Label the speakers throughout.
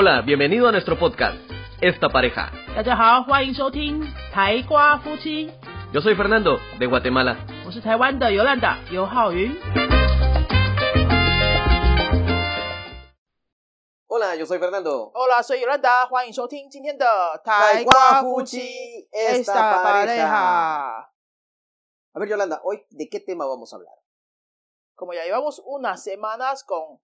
Speaker 1: Hola, bienvenido a nuestro podcast, Esta Pareja.
Speaker 2: 大家好，欢迎收听台瓜夫妻。
Speaker 1: Yo soy Fernando, de Guatemala.
Speaker 2: 我是台湾的尤兰达尤浩云。
Speaker 3: Hola, yo soy Fernando.
Speaker 2: Hola, soy Yolanda， 欢迎收听今天的
Speaker 3: 台瓜夫妻 Esta Pareja. A ver, Yolanda, hoy, ¿de qué tema vamos a hablar?
Speaker 2: Como ya llevamos unas semanas con...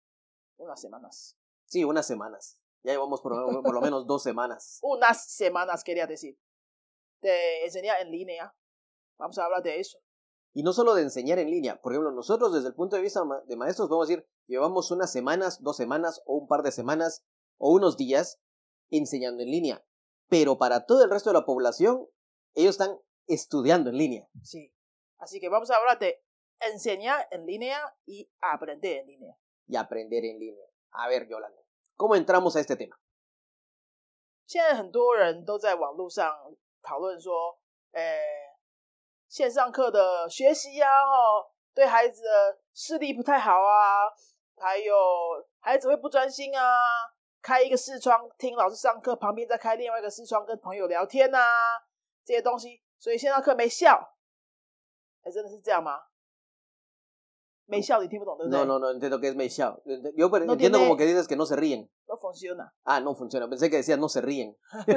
Speaker 3: Sí, unas semanas. Ya llevamos por lo menos 2 semanas.
Speaker 2: Unas semanas, quería decir. De enseñar en línea. Vamos a hablar de eso.
Speaker 3: Y no solo de enseñar en línea. Por ejemplo, nosotros desde el punto de vista de maestros podemos decir, llevamos unas semanas, 2 semanas, o un par de semanas, o unos días enseñando en línea. Pero para todo el resto de la población, ellos están estudiando en línea.
Speaker 2: Sí. Así que vamos a hablar de enseñar en línea y aprender en línea.
Speaker 3: Y aprender en línea. A ver, Yolanda, ¿cómo entramos a este tema?
Speaker 2: 现在很多人都在网络上讨论说，线上课的学习啊，对孩子的视力不太好啊，还有孩子会不专心啊，开一个视窗听老师上课，旁边再开另外一个视窗跟朋友聊天啊，这些东西，所以线上课没效。真的是这样吗？没效你听不懂，对不对？
Speaker 3: No entiendo qué es meishao. Yo entiendo como que dices que no se ríen.
Speaker 2: No funciona.
Speaker 3: Ah, no funciona. Pensé que decías no se ríen.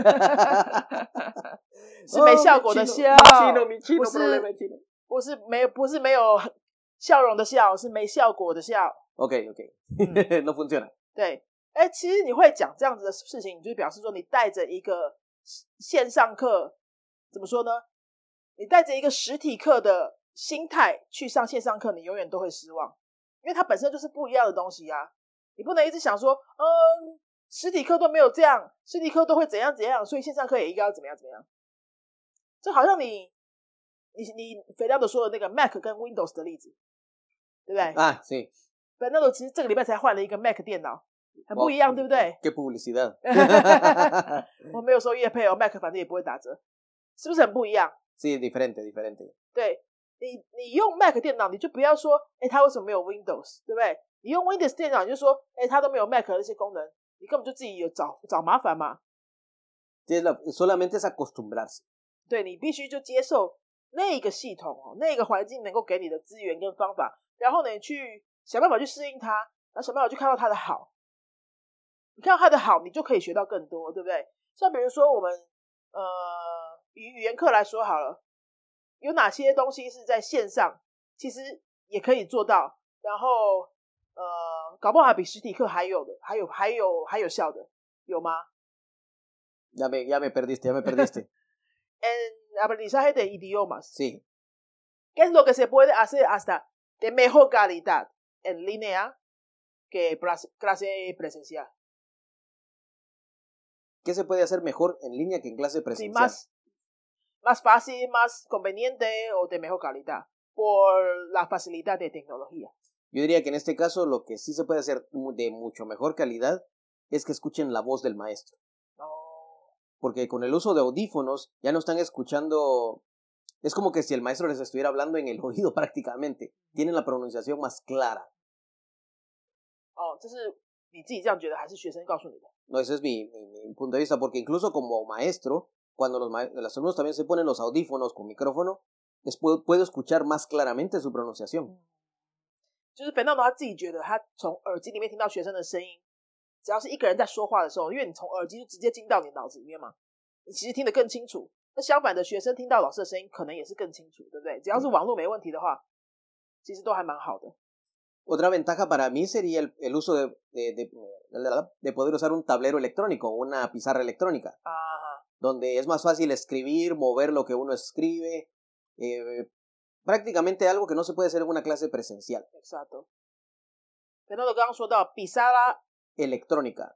Speaker 2: 是没效果的笑。
Speaker 3: mi chino, problema chino.
Speaker 2: 不是没有笑容的笑，是没效果的笑。
Speaker 3: Okay. No funciona.
Speaker 2: 对，其实你会讲这样子的事情，你就表示说你带着一个线上课，怎么说呢？你带着一个实体课的心态去上线上课，你永远都会失望，因为它本身就是不一样的东西啊。你不能一直想说，实体课都没有这样，实体课都会怎样怎样，所以线上课也应该要怎么样怎么样。这好像你肥料的说的那个 Mac 跟 Windows 的例子，对不对？
Speaker 3: Ah, sí.
Speaker 2: 肥料的其实这个礼拜才换了一个 Mac 电脑，很不一样，对不对？
Speaker 3: Qué publicidad.
Speaker 2: 我没有收业配哦 ，Mac 反正也不会打折，是不是很不一样？
Speaker 3: Sí, diferente.
Speaker 2: 对，你用 Mac 电脑，你就不要说，它为什么没有 Windows， 对不对？你用 Windows 电脑，你就说，它都没有 Mac 的那些功能，你根本就自己有找麻烦嘛。
Speaker 3: Solamente es acostumbrarse.
Speaker 2: 对，你必须就接受那个系统那个环境能够给你的资源跟方法，然后呢，你去想办法去适应它，然后想办法去看到它的好。你看到它的好，你就可以学到更多，对不对？像比如说我们以语言课来说好了，有哪些东西是在线上其实也可以做到，然后搞不好还比实体课还有效的，有吗？
Speaker 3: Ya me perdiste.
Speaker 2: En aprendizaje de idiomas.
Speaker 3: Sí.
Speaker 2: ¿Qué es lo que se puede hacer hasta de mejor calidad en línea que clase presencial?
Speaker 3: ¿Qué se puede hacer mejor en línea que en clase presencial?
Speaker 2: Sí, más fácil, más conveniente o de mejor calidad por la facilidad de tecnología.
Speaker 3: Yo diría que en este caso lo que sí se puede hacer de mucho mejor calidad es que escuchen la voz del maestro. Porque con el uso de audífonos ya no están escuchando, es como que si el maestro les estuviera hablando en el oído prácticamente. Tienen la pronunciación más clara.
Speaker 2: 这是你自己这样觉得还是学生告诉你的？
Speaker 3: No, ese es mi punto de vista, porque incluso como maestro, cuando los alumnos también se ponen los audífonos con micrófono, puedo escuchar más claramente su pronunciación.
Speaker 2: 就是Fernando他自己觉得他从耳机里面听到学生的声音，只要是一个人在说话的时候，因为你从耳机就直接进到你脑子里面嘛，你其实听得更清楚。那相反的，学生听到老师的声音可能也是更清楚，对不对？只要是网络没问题的话，其实都还蛮好的。
Speaker 3: Otra ventaja para mí sería el uso de poder usar un tablero electrónico, una pizarra electrónica, donde es más fácil escribir, mover lo que uno escribe, prácticamente algo que no se puede hacer en una clase presencial.
Speaker 2: Exacto. Fernando 刚刚说到 pizarra electrónica,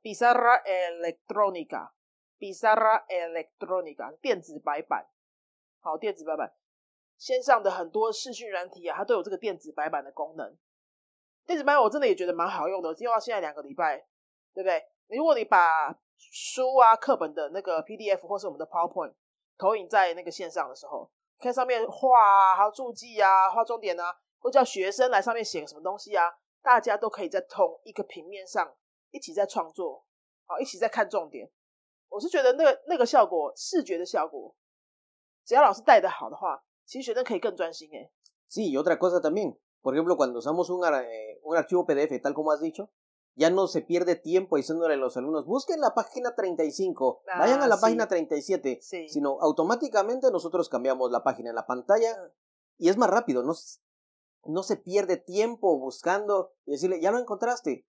Speaker 2: 电子白板，好，电子白板，线上的很多视讯软体它都有这个电子白板的功能。电子白板我真的也觉得蛮好用的，用到现在2个礼拜，对不对？如果你把书啊、课本的那个 PDF 或是我们的 PowerPoint 投影在那个线上的时候，看上面画啊，还有注记啊、画重点啊，或叫学生来上面写个什么东西啊，大家都可以在同一个平面上一起在创作， 一起在看重点。我是觉得那个效果，视觉的效果，只要老师带得好的话，其实学生可以更专心耶。
Speaker 3: Sí, y otra cosa también, por ejemplo, cuando usamos un archivo PDF, tal como has dicho, ya no se pierde tiempo diciéndole a los alumnos, busquen la página 35, vayan a la página 37, sino automáticamente nosotros cambiamos la página en la pantalla y es más rápido, no se pierde tiempo buscando y decirle, ya lo encontraste,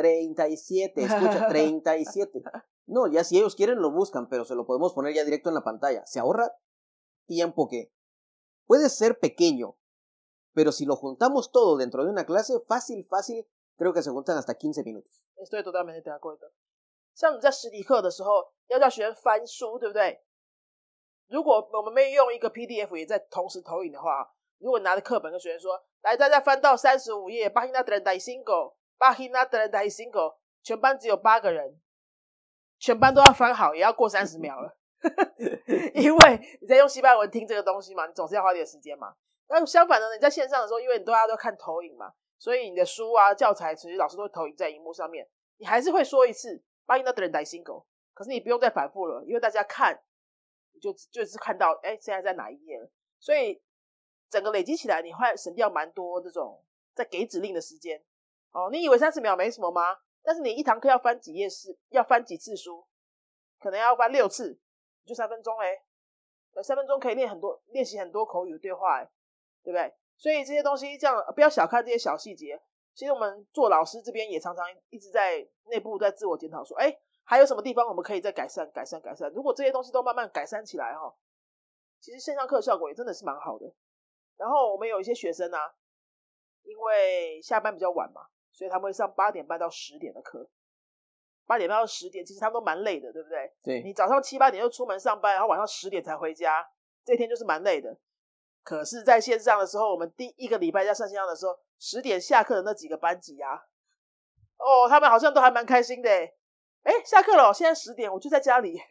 Speaker 3: 37, escucha, 37. No, ya si ellos quieren lo buscan, pero se lo podemos poner ya directo en la pantalla. Se ahorra tiempo que puede ser pequeño, pero si lo juntamos todo dentro de una clase, fácil, creo que se juntan hasta 15 minutos.
Speaker 2: Estoy totalmente de acuerdo. 像你在实体课的时候，要叫学生翻书，对不对？如果我们没有用一个 PDF 也在同时投影的话，如果你拿着课本跟学生说，来，大家翻到35页 página 35 página 35，全班只有8个人，全班都要翻好，也要过30秒了。因为你在用西班牙文听这个东西嘛，你总是要花点时间嘛。那相反的，你在线上的时候，因为大家都看投影嘛，所以你的书啊、教材，其实老师都会投影在荧幕上面，你还是会说一次 página 35，可是你不用再反复了，因为大家看，你就是看到，现在在哪一页了。所以整个累积起来，你会省掉蛮多这种在给指令的时间。你以为30秒没什么吗？但是你一堂课要翻几页要翻几次书，可能要翻6次，就3分钟3分钟可以练习很多口语的对话对不对？所以这些东西这样不要小看这些小细节。其实我们做老师这边也常常一直在内部在自我检讨说，还有什么地方我们可以再改善。如果这些东西都慢慢改善起来其实线上课的效果也真的是蛮好的。然后我们有一些学生啊，因为下班比较晚嘛，所以他们会上8点半到10点的课。8点半到10点，其实他们都蛮累的，对不对？
Speaker 3: 对。
Speaker 2: 你早上7、8点就出门上班，然后晚上10点才回家，这一天就是蛮累的。可是在线上的时候，我们第一个礼拜在上线上的时候，10点下课的那几个班级啊，他们好像都还蛮开心的下课了，现在10点，我就在家里。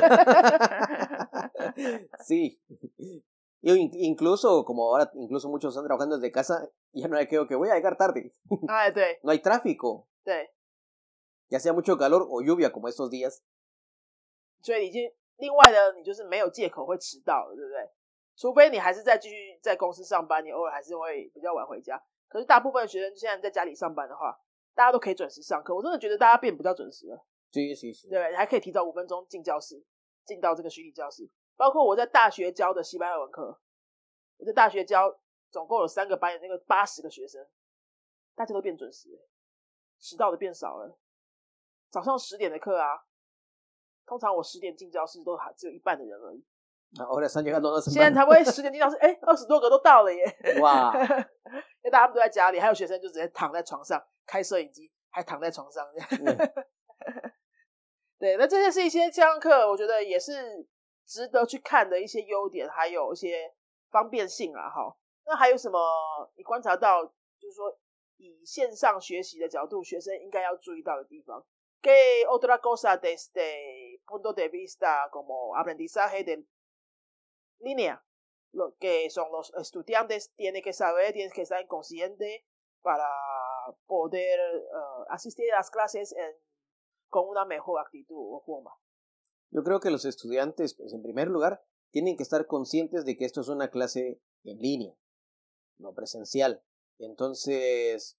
Speaker 3: Sí. Yo incluso, como ahora incluso muchos están trabajando desde casa, ya no hay que voy a llegar tarde.
Speaker 2: 对。
Speaker 3: No hay tráfico.
Speaker 2: 对。
Speaker 3: Ya sea mucho calor o lluvia como estos días.
Speaker 2: 所以已经另外的你就是没有借口会迟到了，对不对？除非你还是继续在公司上班，你偶尔还是会比较晚回家。可是大部分学生现在在家里上班的话，大家都可以准时上课。我真的觉得大家变比较准时了。
Speaker 3: 对，
Speaker 2: 对，还可以提早5分钟进教室，进到这个虚拟教室。包括我在大学教的西班牙文课，我在大学教总共有3个班，有那个80个学生，大家都变准时了，迟到的变少了。早上10点的课啊，通常我10点进教室都还只有一半的人而已。
Speaker 3: Ahora están llegando más.
Speaker 2: 现在才会10点进教室，20多个都到了耶！
Speaker 3: 哇！
Speaker 2: 因为大家都在家里，还有学生就直接躺在床上开摄影机，还躺在床上这样。对，那这些是一些线上课，我觉得也是值得去看的一些优点，还有一些方便性啦齁。那还有什么你观察到，就是说以线上学习的角度，学生应该要注意到的地方？¿Qué otra cosa desde punto de vista como aprendizaje de línea? Lo que son los estudiantes tienen que saber, tienen que estar conscientes para poder asistir a las clases con una mejor actitud o forma.
Speaker 3: Yo creo que los estudiantes, pues, en primer lugar, tienen que estar conscientes de que esto es una clase en línea, no presencial. Entonces,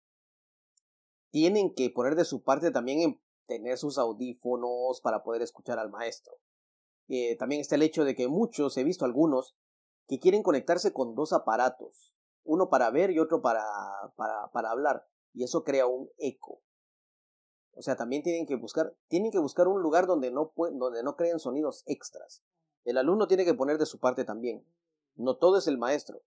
Speaker 3: tienen que poner de su parte también en tener sus audífonos para poder escuchar al maestro. También está el hecho de que muchos, he visto algunos, que quieren conectarse con 2 aparatos, uno para ver y otro para hablar, y eso crea un eco. O sea, también tienen que buscar un lugar donde no creen sonidos extras. El alumno tiene que poner de su parte también. No todo es el maestro.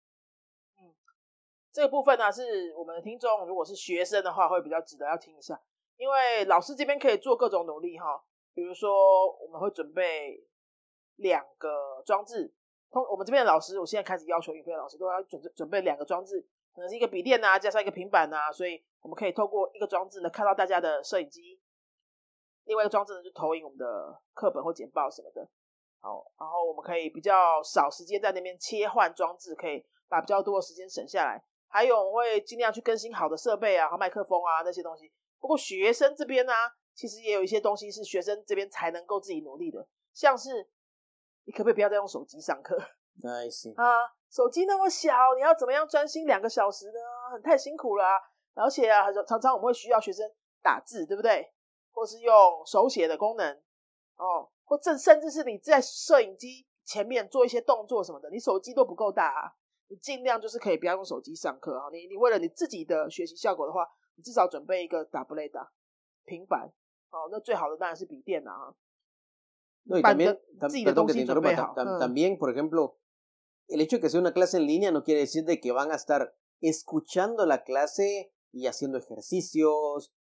Speaker 2: 这个部分呢，是我们的听众如果是学生的话会比较值得要听一下，因为老师这边可以做各种努力比如说我们会准备2个装置，我们这边的老师，我现在开始要求语培的老师都要准备2个装置，可能是一个笔电啊，加上一个平板啊，所以我们可以透过一个装置呢看到大家的摄影机，另外一个装置呢就投影我们的课本或简报什么的。好，然后我们可以比较少时间在那边切换装置，可以把比较多的时间省下来。还有我会尽量去更新好的设备啊，和麦克风啊那些东西。不过学生这边呢， 其实也有一些东西是学生这边才能够自己努力的，像是你可不可以不要再用手机上课？
Speaker 3: Ay, sí.
Speaker 2: 手机那么小，你要怎么样专心2个小时呢？太辛苦了而且常常我们会需要学生打字，对不对？或是用手写的功能或甚至是你在摄影机前面做一些动作什么的，你手机都不够大你尽量就是可以不要用手机上课你为了你自己的学习效果的话，你至少准备一个tableta平板那最好的当然是笔电
Speaker 3: No, y también, perdón que te interrumpa, también, por ejemplo, el hecho de que sea una clase en línea no quiere decir de que van a estar escuchando la clase y haciendo ejercicios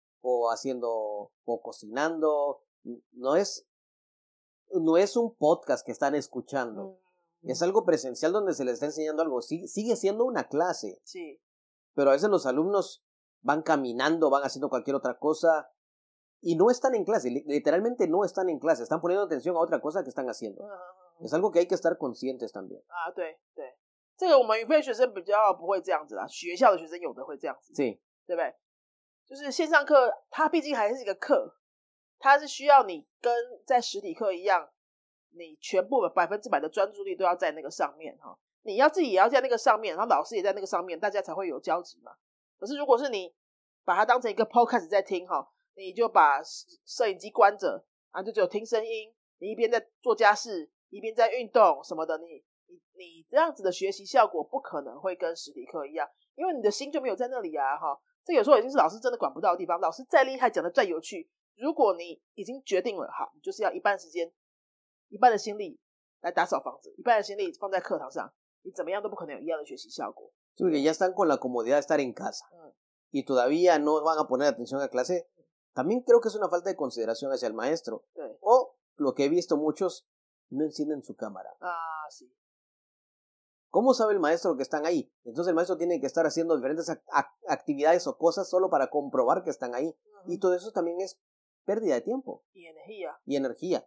Speaker 3: o cocinando. No es un podcast que están escuchando. Es algo presencial donde se les está enseñando algo. Sigue siendo una clase.
Speaker 2: Sí.
Speaker 3: Pero a veces los alumnos van caminando, van haciendo cualquier otra cosa y no están en clase. Literalmente no están en clase. Están poniendo atención a otra cosa que están haciendo. Es algo que hay que estar conscientes también.
Speaker 2: 对，这个我们语费学生比较不会这样子学校的学生有的会这样子，
Speaker 3: sí，
Speaker 2: 对不对？就是线上课，它毕竟还是一个课，它是需要你跟在实体课一样，你全部100%的专注力都要在那个上面你要自己也要在那个上面，然后老师也在那个上面，大家才会有交集嘛。可是如果是你把它当成一个 podcast 在听你就把摄影机关着就只有听声音，你一边在做家事一边在运动什么的，你这样子的学习效果不可能会跟实体课一样，因为你的心就没有在那里这有时候已经是老师真的管不到的地方，老师再厉害讲的再有趣，如果你已经决定了好，你就是要一半时间一半的心力来打扫房子，一半的心力放在课堂上，你怎么样都不可能有一样的学习效果。
Speaker 3: Porque ya están con la comodidad de estar en casa y todavía no van a poner atención a clase. También creo que es una falta de consideración hacia el maestro. O lo que he visto muchos, no encienden su cámara.
Speaker 2: Sí.
Speaker 3: ¿Cómo sabe el maestro que están ahí? Entonces el maestro tiene que estar haciendo diferentes actividades o cosas solo para comprobar que están ahí. Y todo eso también es pérdida de tiempo.
Speaker 2: Y energía.
Speaker 3: Y energía.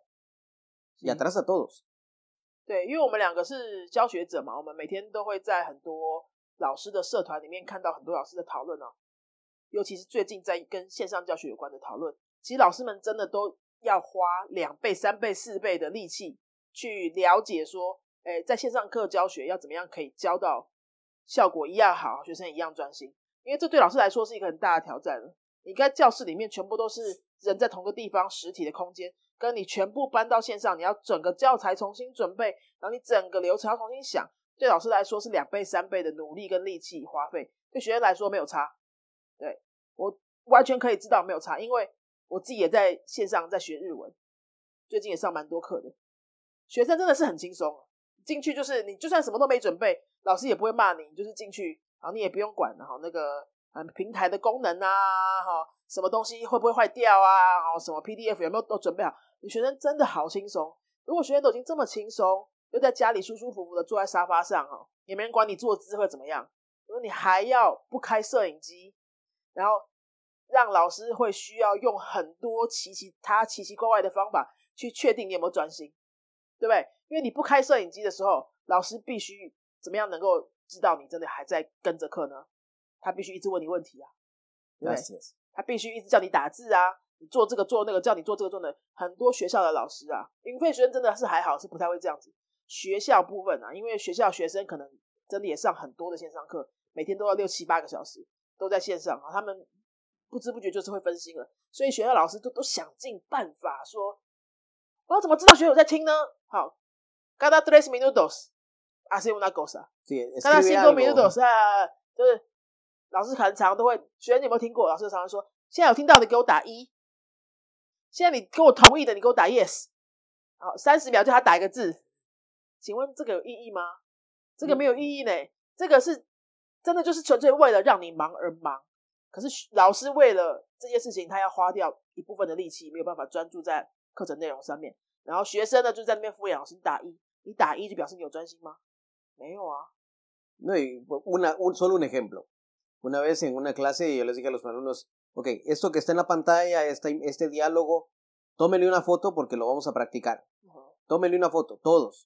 Speaker 3: Y atrasa a todos.
Speaker 2: 对，因为我们2个是教学者嘛，我们每天都会在很多老师的社团里面看到很多老师的讨论尤其是最近在跟线上教学有关的讨论，其实老师们真的都要花2倍、3倍、4倍的力气去了解说在线上课教学要怎么样可以教到效果一样好，学生一样专心，因为这对老师来说是一个很大的挑战了。你在教室里面全部都是人在同个地方实体的空间，跟你全部搬到线上，你要整个教材重新准备，然后你整个流程要重新想，对老师来说是2倍、3倍的努力跟力气花费，对学生来说没有差。对，我完全可以知道没有差，因为我自己也在线上在学日文，最近也上蛮多课的，学生真的是很轻松进去就是你就算什么都没准备，老师也不会骂你，你就是进去，然后你也不用管那个平台的功能什么东西会不会坏掉什么 PDF 有没有都准备好，你学生真的好轻松。如果学生都已经这么轻松，又在家里舒舒服服的坐在沙发上也没人管你坐姿会怎么样，如果你还要不开摄影机，然后让老师会需要用很多奇奇怪怪的方法去确定你有没有专心，对不对？因为你不开摄影机的时候，老师必须怎么样能够知道你真的还在跟着课呢？他必须一直问你问题对不对？他必须一直叫你打字你做这个做那个，叫你做这个做那个。很多学校的老师云费学生真的是还好，是不太会这样子。学校部分因为学校学生可能真的也上很多的线上课，每天都要6、7、8个小时都在线上他们不知不觉就是会分心了，所以学校老师都想尽办法说，我要怎么知道学生有在听呢？好，cada 3 minutos hace una cosa。cada 5 minutos 就是老师可能常常都会，学生你有没有听过？老师常常说，现在有听到的给我打1，现在你跟我同意的你给我打 yes。好，30秒叫他打一个字，请问这个有意义吗？这个没有意义呢，这个是真的就是纯粹为了让你忙而忙。可是老师为了这件事情，他要花掉一部分的力气，没有办法专注在课程内容上面。然后学生呢就在那边敷衍老师，你打1就表示你有专心吗？没有
Speaker 3: No, y solo un ejemplo. Una vez en una clase yo les dije a los alumnos, ok, esto que está en la pantalla, este diálogo, tómenle una foto porque lo vamos a practicar. Tómenle una foto, todos.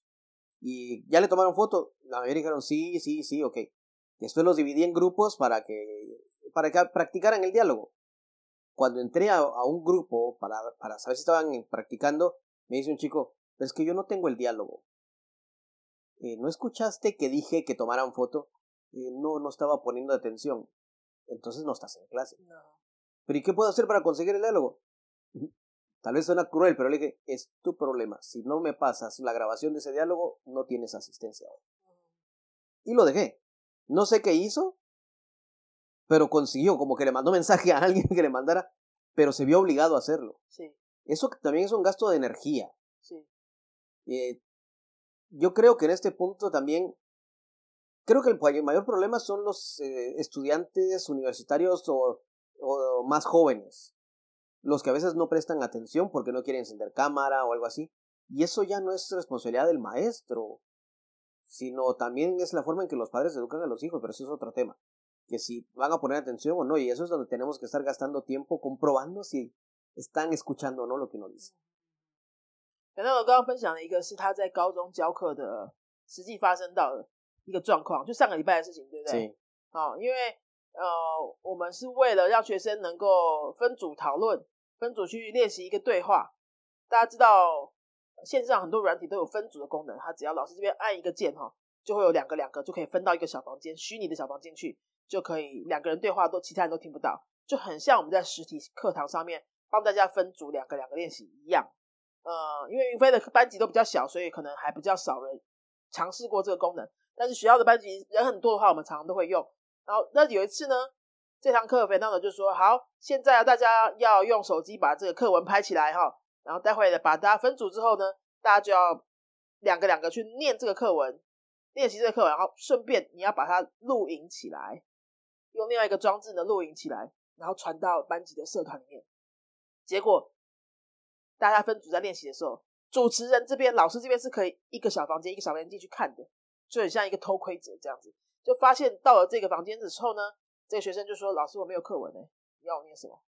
Speaker 3: Y ya le tomaron foto, la mayoría dijeron sí, ok. Después los dividí en grupos para que practicaran el diálogo. cuando entré a un grupo para saber si estaban practicando, me dice un chico, pero es que yo no tengo el diálogo. ¿No escuchaste que dije que tomaran foto? No estaba poniendo atención. Entonces no estás en clase.
Speaker 2: No.
Speaker 3: ¿Pero y qué puedo hacer para conseguir el diálogo? Tal vez suena cruel, pero le dije, es tu problema. Si no me pasas la grabación de ese diálogo, no tienes asistencia hoy. Y lo dejé. No sé qué hizo, pero consiguió, como que le mandó mensaje a alguien que le mandara, pero se vio obligado a hacerlo.
Speaker 2: Sí.
Speaker 3: Eso también es un gasto de energía.
Speaker 2: Sí.
Speaker 3: Yo creo que en este punto también, creo que el mayor problema son los estudiantes universitarios o más jóvenes. Los que a veces no prestan atención porque no quieren encender cámara o algo así. Y eso ya no es responsabilidad del maestro, sino también es la forma en que los padres educan a los hijos, pero eso es otro tema. Que si van a poner atención o no, y eso es donde tenemos que estar gastando tiempo comprobando si están escuchando o no lo que uno dice.
Speaker 2: 反正我刚刚分享的一个是他在高中教课的实际发生到的一个状况，就上个礼拜的事情，对不对？因为我们是为了让学生能够分组讨论，分组去练习一个对话。大家知道线上很多软体都有分组的功能，它只要老师这边按一个键就会有两个就可以分到一个小房间，虚拟的小房间去，就可以两个人对话都其他人都听不到，就很像我们在实体课堂上面帮大家分组两个练习一样。因为云飞的班级都比较小，所以可能还比较少人尝试过这个功能，但是学校的班级人很多的话，我们常常都会用。然后那有一次呢，这堂课Fernando就说，好，现在大家要用手机把这个课文拍起来然后待会把大家分组之后呢，大家就要两个去念这个课文，练习这个课文，然后顺便你要把它录影起来，用另外一个装置呢录影起来，然后传到班级的社团里面。结果大家分组在练习的时候，主持人这边老师这边是可以一个小房间进去看的，就很像一个偷窥者这样子。就发现到了这个房间的时候呢，这个学生就说，老师我没有课文你要我念什么？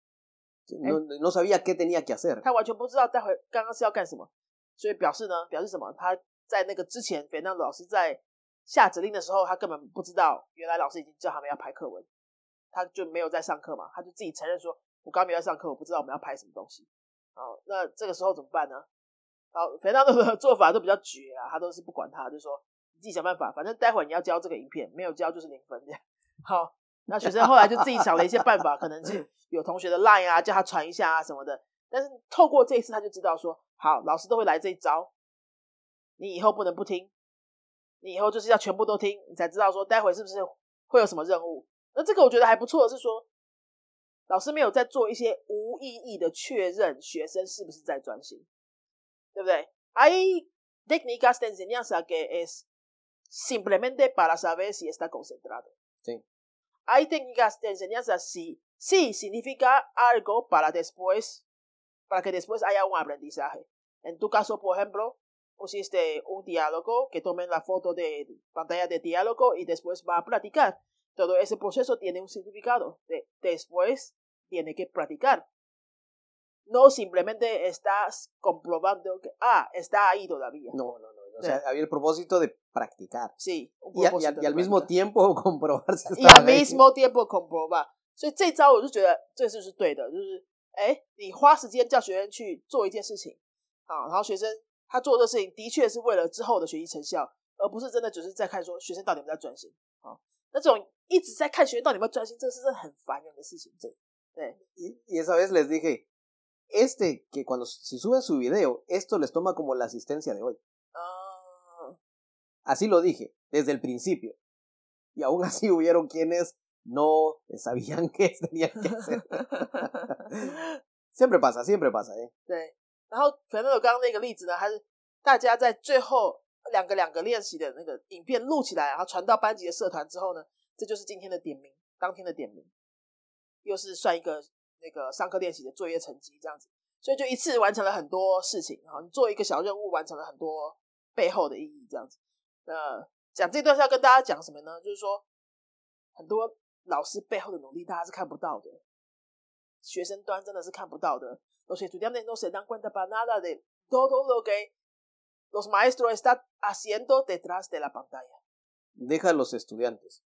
Speaker 3: No sabía qué tenía que hacer。
Speaker 2: 他完全不知道待会刚刚是要干什么，所以表示什么？他在那个之前Fernando老师在下指令的时候，他根本不知道原来老师已经叫他们要拍课文，他就没有在上课嘛，他就自己承认说，我刚刚没有在上课，我不知道我们要拍什么东西。好，那这个时候怎么办呢？好，Fernando的做法都比较绝他都是不管他，就说你自己想办法，反正待会你要交这个影片，没有交就是0分这样。好，那学生后来就自己想了一些办法，可能是有同学的 LINE 叫他传一下什么的，但是透过这一次他就知道说，好，老师都会来这一招，你以后不能不听，你以后就是要全部都听，你才知道说待会是不是会有什么任务。那这个我觉得还不错的是说，老师没有在做一些无意义的确认学生是不是在专心，对不对？ Hay técnicas de enseñanza que es simplemente para saber si está concentrado.
Speaker 3: Sí.
Speaker 2: Hay técnicas de enseñanza sí significa algo para que después haya un aprendizaje. En tu caso, por ejemplo, pusiste un diálogo, que tomen la foto de pantalla de diálogo y después va a practicar. Todo ese proceso tiene un significado. Después tiene que practicar. No simplemente estás comprobando que, está ahí todavía.
Speaker 3: No. O sea, había el propósito de practicar.
Speaker 2: Sí.
Speaker 3: Y al mismo tiempo comprobar si
Speaker 2: estaban ahí. Y al mismo tiempo comprobar. 所以这招我就觉得这就是对的，就是你花时间叫学生去做一件事情然后学生他做这事情的确是为了之后的学习成效，而不是真的只是在看说学生到底有没有在专心那种一直在看学生到底有没有专心，这是真的很烦人的事情。对。
Speaker 3: Y esa vez les dije, que cuando si suben su video, esto les toma como la asistencia de hoy. Así lo dije, desde el principio. Y aún así hubieron quienes no sabían qué tenían que hacer. siempre pasa.
Speaker 2: 对。然后Fernando刚刚那个例子呢，还是大家在最后两个练习的那个影片录起来，然后传到班级的社团之后呢，这就是今天的点名，当天的点名，又是算一个那个上课练习的作业成绩这样子，所以就一次完成了很多事情你做一个小任务完成了很多背后的意义这样子。讲这段是要跟大家讲什么呢？就是说很多老师背后的努力大家是看不到的，学生端真的是看不到的。Los estudiantes no se dan cuenta para nada de todo lo que los maestros están haciendo detrás de la pantalla.
Speaker 3: Deja a los estudiantes.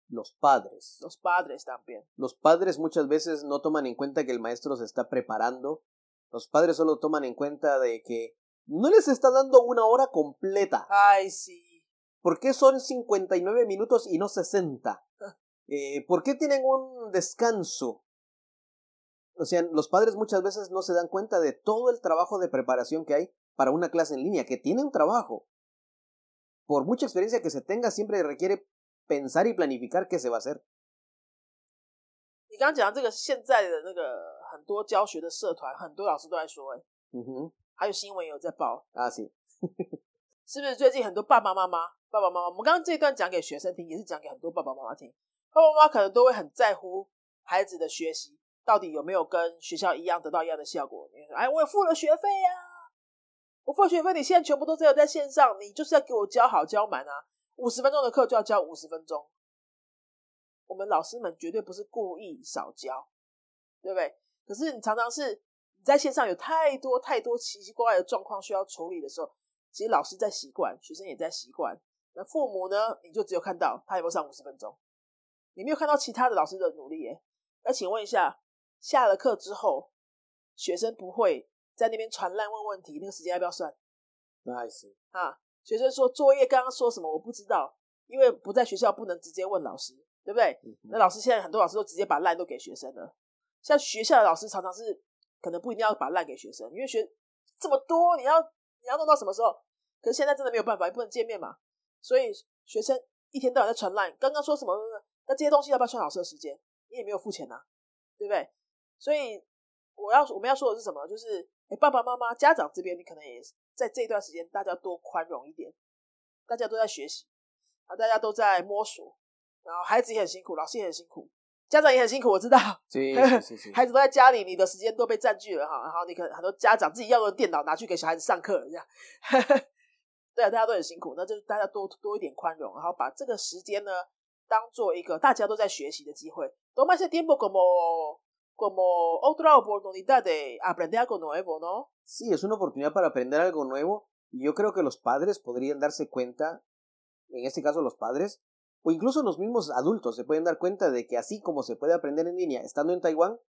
Speaker 3: Los padres.
Speaker 2: Los padres también.
Speaker 3: Los padres muchas veces no toman en cuenta que el maestro se está preparando. Los padres solo toman en cuenta de que no les está dando una hora completa.
Speaker 2: Ay, sí.
Speaker 3: ¿Por qué son 59 minutos y no 60? ¿Por qué tienen un descanso? O sea, los padres muchas veces no se dan cuenta de todo el trabajo de preparación que hay para una clase en línea, que tiene un trabajo. Por mucha experiencia que se tenga, siempre requiere pensar y planificar qué se va a hacer.
Speaker 2: 你刚刚讲这个现在的那个很多教学的社团，很多老师都在说，还有新闻有在报
Speaker 3: 啊，是
Speaker 2: 是不是最近很多爸爸妈妈，我们刚刚这一段讲给学生听，也是讲给很多爸爸妈妈听。爸爸妈妈可能都会很在乎孩子的学习到底有没有跟学校一样得到一样的效果。哎，我付了学费啊，我付了学费，你现在全部都只有在线上，你就是要给我教好教满啊，50分钟的课就要教50分钟。我们老师们绝对不是故意少教，对不对？可是你常常是你在线上有太多奇奇怪怪的状况需要处理的时候，其实老师在习惯，学生也在习惯，那父母呢，你就只有看到他有没有上50分钟，你没有看到其他的老师的努力耶。那请问一下，下了课之后，学生不会在那边传烂问问题，那个时间要不要算？学生说作业刚刚说什么我不知道，因为不在学校不能直接问老师，对不对？那老师现在很多老师都直接把烂都给学生了。像学校的老师常常是可能不一定要把烂给学生，因为这么多你要弄到什么时候？可是现在真的没有办法，也不能见面嘛，所以学生一天到晚在传烂，刚刚说什么？那这些东西要不要算老师的时间？你也没有付钱啊，对不对？所以我们要说的是什么？就是爸爸妈妈家长这边，你可能也在这一段时间大家多宽容一点，大家都在学习啊，大家都在摸索，然后孩子也很辛苦，老师也很辛苦，家长也很辛苦，我知道。孩子都在家里，你的时间都被占据了哈，然后你可能很多家长自己要用电脑拿去给小孩子上课，这样。对啊，大家都很辛苦，那就大家多一点宽容，然后把这个时间呢当做一个大家都在学习的机会。Toma ese tiempo como otra oportunidad de aprender algo nuevo, ¿no?
Speaker 3: Sí, es una oportunidad para aprender algo nuevo y yo creo que los padres podrían darse cuenta, en este caso los padres, o incluso los mismos adultos se pueden dar cuenta de que así como se puede aprender en línea estando en Taiwán,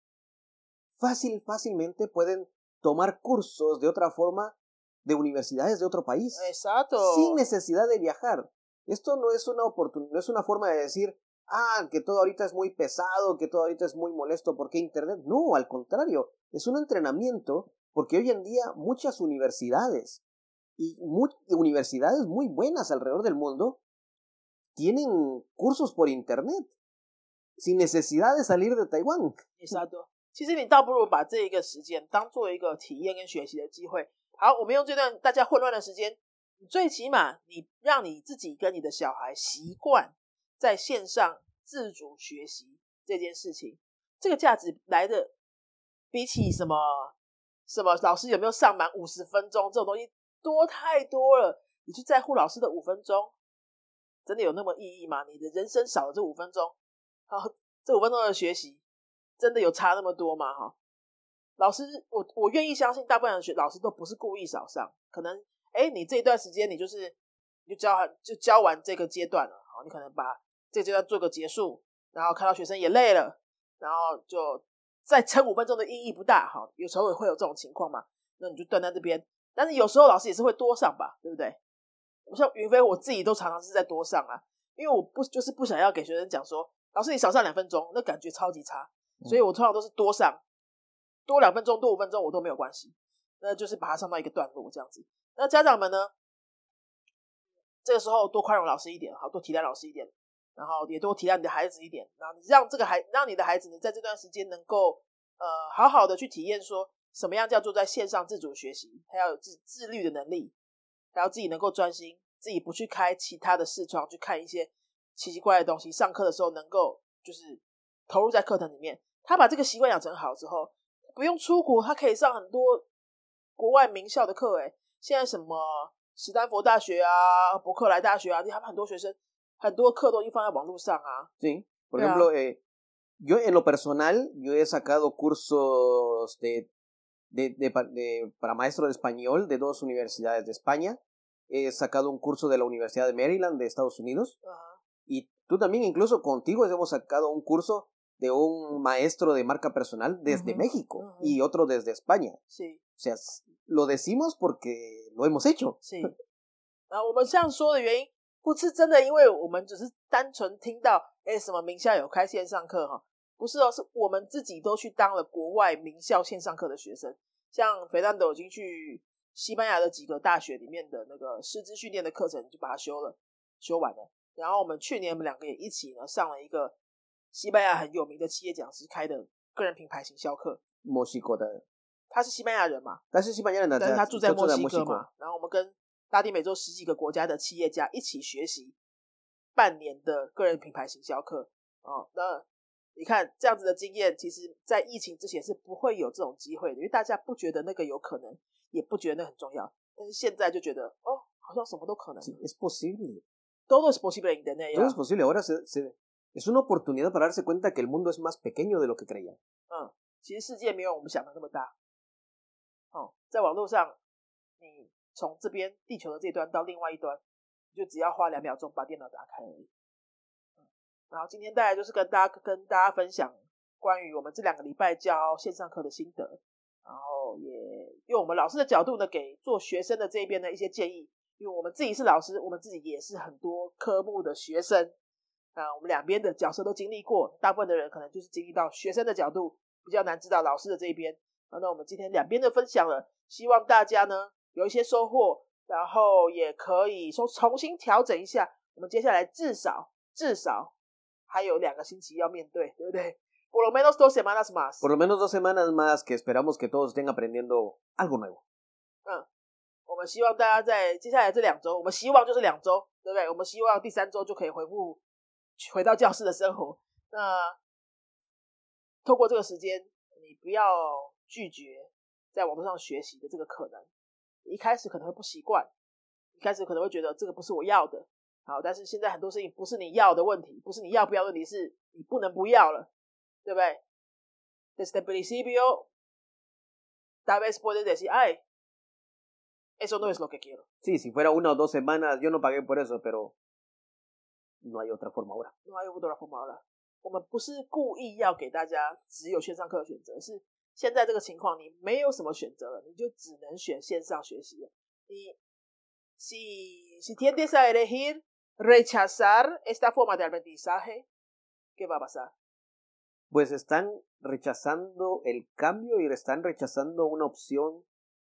Speaker 3: fácilmente pueden tomar cursos de otra forma de universidades de otro país.
Speaker 2: Exacto.
Speaker 3: Sin necesidad de viajar. Esto no es una oportunidad, no es una forma de decir, que todo ahorita es muy pesado, que todo ahorita es muy molesto, ¿por qué Internet? No, al contrario, es un entrenamiento porque hoy en día muchas universidades y universidades muy buenas alrededor del mundo tienen cursos por Internet sin necesidad de salir de Taiwán.
Speaker 2: Exacto. 其实你倒不如把这一个时间当做一个体验跟学习的机会。好，我们用这段大家混乱的时间，最起码你让你自己跟你的小孩习惯在线上自主学习这件事情，这个价值来的比起什么老师有没有上满50分钟这种东西多太多了。你去在乎老师的5分钟，真的有那么意义吗？你的人生少了这5分钟，好，这5分钟的学习真的有差那么多吗？哈，老师，我愿意相信大部分的老师都不是故意少上，可能你这一段时间你就教完这个阶段了，好，你可能把这个阶段做个结束，然后看到学生也累了，然后就再撑5分钟的意义不大，好，有时候会有这种情况嘛，那你就断在这边。但是有时候老师也是会多上吧，对不对？像云飞我自己都常常是在多上啊，因为我不想要给学生讲说，老师你少上2分钟，那感觉超级差，所以我通常都是多上，多2分钟多5分钟我都没有关系，那就是把它上到一个段落这样子。那家长们呢，这个时候多宽容老师一点，好，多体谅老师一点，然后也多体谅你的孩子一点，然后让你的孩子呢在这段时间能够好好的去体验说什么样叫做在线上自主学习，还要有自律的能力，还要自己能够专心，自己不去开其他的视窗去看一些奇奇怪怪的东西，上课的时候能够就是投入在课堂里面。他把这个习惯养成好之后，不用出国，他可以上很多国外名校的课。现在什么史丹佛大学啊，伯克莱大学啊，他们很多学生很多课都已经放在网络上啊。
Speaker 3: Sí, por ejemplo, yo en lo personal, yo he sacado cursos para maestro de español de 2 universidades de España. He sacado un curso de la Universidad de Maryland de Estados Unidos. Y Tú también, incluso contigo hemos sacado un curso de un maestro de marca personal desde México y otro desde España.
Speaker 2: Sí，
Speaker 3: O sea, lo decimos porque lo hemos hecho.
Speaker 2: 是。我们这样说的原因，不是真的因为我们只是单纯听到什么名校有开线上课哈，不是哦，是我们自己都去当了国外名校线上课的学生。像肥蛋斗已经去西班牙的几个大学里面的那个师资训练的课程就把它修完了。然后我们去年我们两个也一起呢上了一个西班牙很有名的企业讲师开的个人品牌行销课。
Speaker 3: 墨西哥的，
Speaker 2: 他是西班牙人嘛？
Speaker 3: 他是西班牙人，但
Speaker 2: 是他住在墨西哥嘛。然后我们跟拉丁美洲10几个国家的企业家一起学习半年的个人品牌行销课。那你看这样子的经验，其实在疫情之前是不会有这种机会的，因为大家不觉得那个有可能，也不觉得那很重要。但是现在就觉得好像什么都可能。
Speaker 3: Es posible.
Speaker 2: Todo es posible en Internet.
Speaker 3: Todo es posible. Ahora es una oportunidad para darse cuenta que el mundo es más pequeño de lo que creían.
Speaker 2: 其实世界没有我们想的那么大。在网络上，你从这边地球的这端到另外一端，你就只要花2秒钟把电脑打开而已。然后今天带来就是跟大家分享关于我们这2个礼拜教线上课的心得，然后也用我们老师的角度呢，给做学生的这边的一些建议。因为我们自己是老师，我们自己也是很多科目的学生，我们两边的角色都经历过，大部分的人可能就是经历到学生的角度，比较难知道老师的这一边。那我们今天两边的分享了，希望大家呢有一些收获，然后也可以重新调整一下，我们接下来至少还有2个星期要面对，对不对？Por lo menos 2 semanas más.
Speaker 3: Por lo menos 2 semanas más que esperamos que todos estén aprendiendo algo nuevo.
Speaker 2: 我们希望大家在接下来这2周，我们希望就是2周，对不对？我们希望第3周就可以回到教室的生活。那透过这个时间，你不要拒绝在网络上学习的这个可能。一开始可能会不习惯，一开始可能会觉得这个不是我要的。好，但是现在很多事情不是你要的问题，不是你要不要的问题，是你不能不要了，对不对？ Desde el principio, tal vez puedes decir, ay, eso no es lo que quiero.
Speaker 3: Sí, si fuera 1 o 2 semanas, yo no pagué por eso, pero no hay otra forma ahora.
Speaker 2: No hay otra forma ahora. 我们不是故意要给大家只有线上课的选择，是现在这个情况你没有什么选择了，你就只能选线上学习了。你si tiendes a elegir rechazar esta forma de aprendizaje, ¿qué va a pasar?
Speaker 3: Pues están rechazando el cambio y están rechazando una opción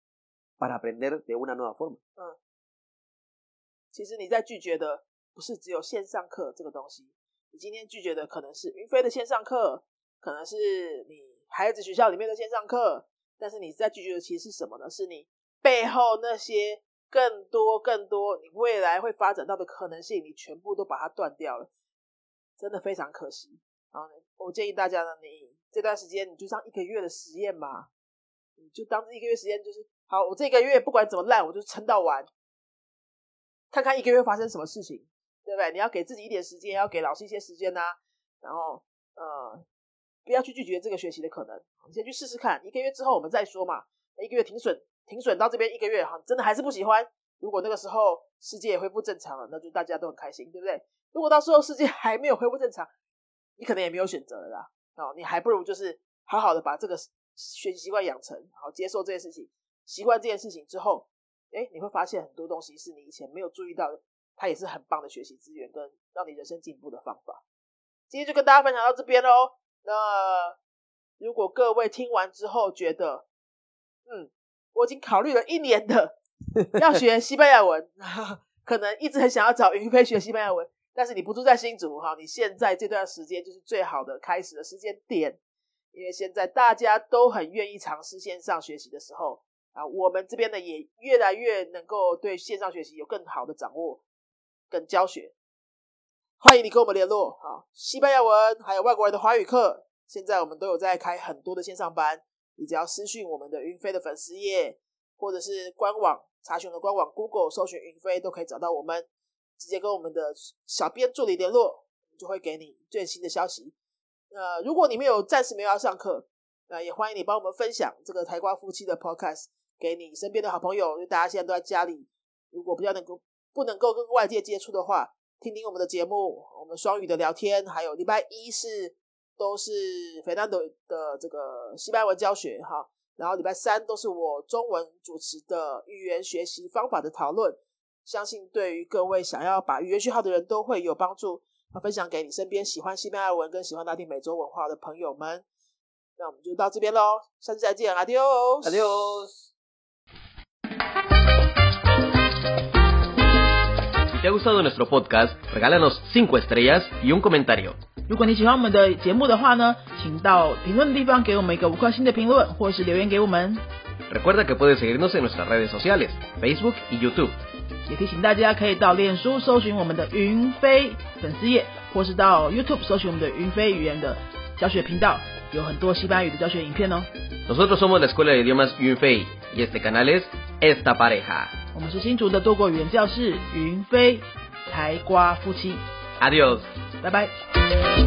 Speaker 3: para aprender de una nueva forma.
Speaker 2: 其实你在拒绝的不是只有线上课这个东西，你今天拒绝的可能是云飞的线上课，可能是你孩子学校里面的线上课，但是你在拒绝的其实是什么呢？是你背后那些更多你未来会发展到的可能性，你全部都把它断掉了，真的非常可惜。然后呢，我建议大家呢，你这段时间你就当1个月的实验嘛，你就当这1个月实验，就是好，我这1个月不管怎么烂，我就撑到完，看看1个月发生什么事情，对不对？你要给自己一点时间，要给老师一些时间啊，然后不要去拒绝这个学习的可能，你先去试试看，1个月之后我们再说嘛。1个月停损到这边1个月，真的还是不喜欢，如果那个时候世界也恢复正常了，那就大家都很开心，对不对？如果到时候世界还没有恢复正常，你可能也没有选择了啦，你还不如就是好好的把这个学习习惯养成，好接受这件事情，习惯这件事情之后，你会发现很多东西是你以前没有注意到的，它也是很棒的学习资源跟让你人生进步的方法。今天就跟大家分享到这边咯。那如果各位听完之后觉得我已经考虑了1年的要学西班牙文可能一直很想要找云飞学西班牙文，但是你不住在新竹，你现在这段时间就是最好的开始的时间点，因为现在大家都很愿意尝试线上学习的时候我们这边呢也越来越能够对线上学习有更好的掌握跟教学。欢迎你跟我们联络，西班牙文还有外国人的华语课，现在我们都有在开很多的线上班，你只要私讯我们的云飞的粉丝页，或者是官网查询的官网 Google 搜寻云飞都可以找到我们，直接跟我们的小编助理联络，就会给你最新的消息。如果你暂时没有要上课，也欢迎你帮我们分享这个台瓜夫妻的 podcast 给你身边的好朋友，因为大家现在都在家里，如果不能够跟外界接触的话， 听听我们的节目，我们双语的聊天，还有礼拜一都是 Fernando 的这个西班牙文教学哈，然后礼拜三都是我中文主持的语言学习方法的讨论，相信对于各位想要把语言学好的人都会有帮助，分享给你身边喜欢西班牙文跟喜欢拉丁美洲文化的朋友们。那我们就到这边咯，下次再见 ，Adios。
Speaker 3: Adiós。
Speaker 1: Si te ha gustado nuestro podcast, regálanos 5 estrellas y un comentario.
Speaker 4: 如果你喜欢我们的节目的话呢，请到评论的地方给我们一个5颗星的评论，或是留言给我们。
Speaker 1: Recuerda que puedes seguirnos en nuestras redes sociales, Facebook y YouTube.
Speaker 4: 也提醒大家可以到脸书搜寻我们的云飞粉丝页，或是到 YouTube 搜寻我们的云飞语言的教学频道，有很多西班牙语的教学影片哦。
Speaker 1: Nosotros somos la Escuela de Idiomas Yunfei y este canal es Esta Pareja.
Speaker 4: 我们是新竹的多国语言教室云飞台瓜夫妻。
Speaker 1: Adiós.
Speaker 4: 拜拜。